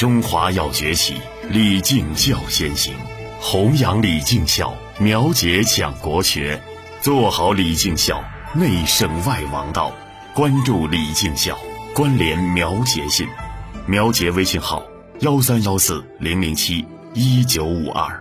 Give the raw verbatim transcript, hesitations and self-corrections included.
中华要崛起，礼敬孝先行，弘扬礼敬孝，苗节讲国学，做好礼敬孝，内圣外王道。关注礼敬孝，关联苗节信。苗节微信号：幺三幺四零零七一九五二。